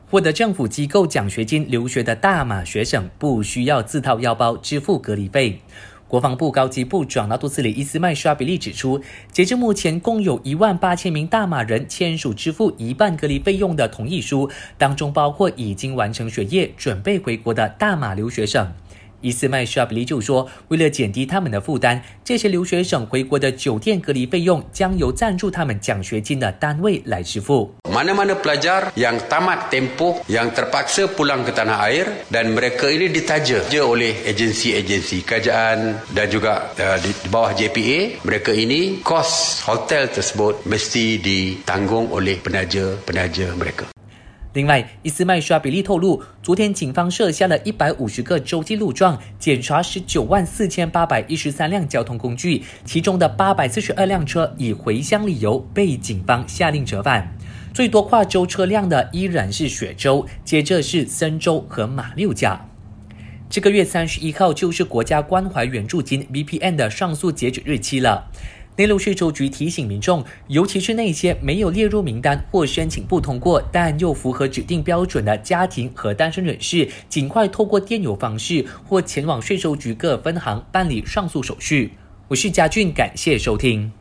获得政府机构奖学金留学的大马学生不需要自掏腰包支付隔离费。国防部高级部长纳杜斯里伊斯麦沙比利指出，截至目前共有18000名大马人签署支付一半隔离费用的同意书，当中包括已经完成学业准备回国的大马留学生。伊斯麦沙比利就说，为了减低他们的负担，这些留学生回国的酒店隔离费用将由赞助他们奖学金的单位来支付。 Mana-mana pelajar yang tamat tempoh yang terpaksa pulang ke tanah air dan mereka ini ditaja oleh agensi-agensi kerajaan dan juga di bawah JPA, mereka ini kos hotel tersebut mesti ditanggung oleh penaja-penaja mereka。 另外，伊斯麦沙比利透露，昨天警方设下了150个洲际路障，检查194813辆交通工具，其中的842辆车以回乡理由被警方下令折返。最多跨州车辆的依然是雪州，接着是森州和马六甲。这个月31号就是国家关怀援助金 BPN 的上诉截止日期了。内陆税收局提醒民众，尤其是那些没有列入名单或申请不通过，但又符合指定标准的家庭和单身人士，尽快透过电邮方式或前往税收局各分行办理上诉手续。我是嘉俊，感谢收听。